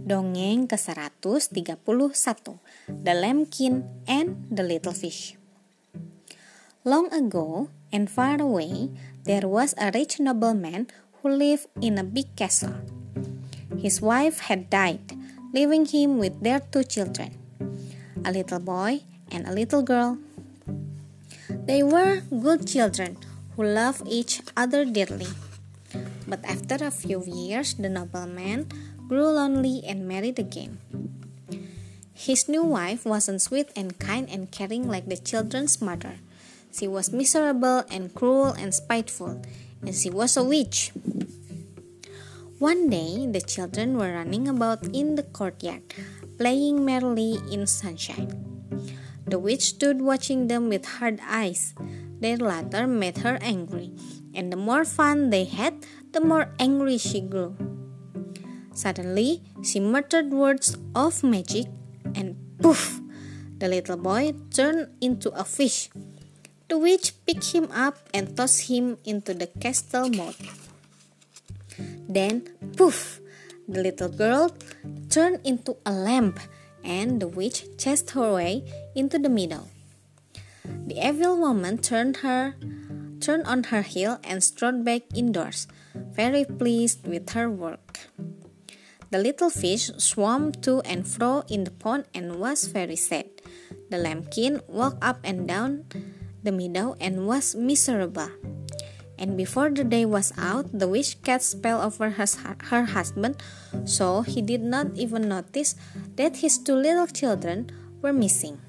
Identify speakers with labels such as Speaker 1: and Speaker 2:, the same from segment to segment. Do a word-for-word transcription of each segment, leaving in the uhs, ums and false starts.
Speaker 1: Dongeng ke seratus tiga puluh satu, The Lambkin and the Little Fish. Long ago and far away, there was a rich nobleman who lived in a big castle. His wife had died, leaving him with their two children, a little boy and a little girl. They were good children who loved each other dearly. But after a few years, the nobleman grew lonely and married again. His new wife wasn't sweet and kind and caring like the children's mother. She was miserable and cruel and spiteful, and she was a witch. One day, the children were running about in the courtyard, playing merrily in sunshine. The witch stood watching them with hard eyes. Their laughter made her angry, and the more fun they had, the more angry she grew. Suddenly, she muttered words of magic, and poof! The little boy turned into a fish. The witch picked him up and tossed him into the castle moat. Then, poof! The little girl turned into a lamb, and the witch chased her away into the meadow. The evil woman turned her, turned on her heel and strode back indoors, very pleased with her work. The little fish swam to and fro in the pond and was very sad. The lambkin walked up and down the meadow and was miserable. And before the day was out, the witch cast spell over her, her husband, so he did not even notice that his two little children were missing.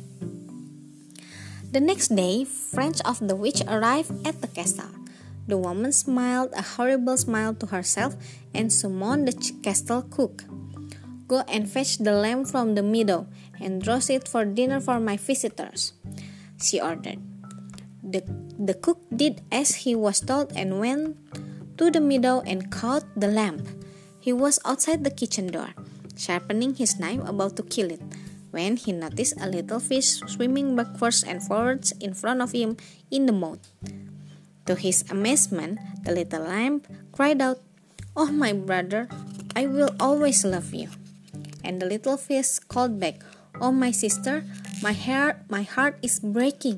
Speaker 1: The next day, friends of the witch arrived at the castle. The woman smiled a horrible smile to herself and summoned the castle cook. "Go and fetch the lamb from the meadow and roast it for dinner for my visitors," she ordered. The, the cook did as he was told and went to the meadow and caught the lamb. He was outside the kitchen door, sharpening his knife about to kill it, when he noticed a little fish swimming backwards and forwards in front of him in the moat. To his amazement, the little lamb cried out, "Oh, my brother, I will always love you." And the little fish called back, "Oh, my sister, my heart, my heart is breaking."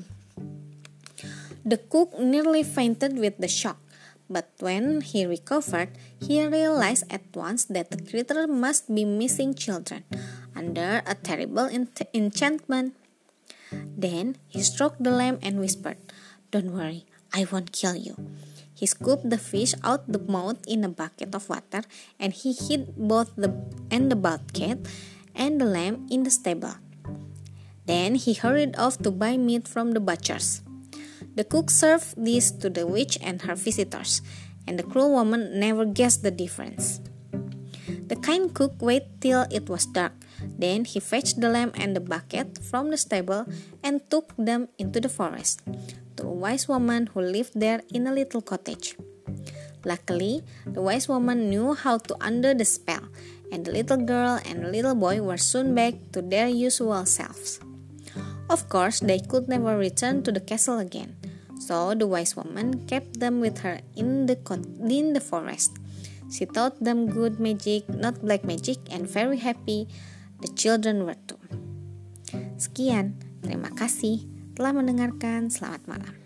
Speaker 1: The cook nearly fainted with the shock, but when he recovered, he realized at once that the creature must be missing children under a terrible ent- enchantment. Then he stroked the lamb and whispered, "Don't worry, I won't kill you." He scooped the fish out the mouth in a bucket of water, and he hid both the and the bucket and the lamb in the stable. Then he hurried off to buy meat from the butchers. The cook served this to the witch and her visitors, and the cruel woman never guessed the difference. The kind cook waited till it was dark. Then he fetched the lamb and the bucket from the stable and took them into the forest, to a wise woman who lived there in a little cottage. Luckily, the wise woman knew how to undo the spell, and the little girl and the little boy were soon back to their usual selves. Of course, they could never return to the castle again, so the wise woman kept them with her in the in the forest. She taught them good magic, not black magic, and very happy the children were too. Sekian, terima kasih telah mendengarkan. Selamat malam.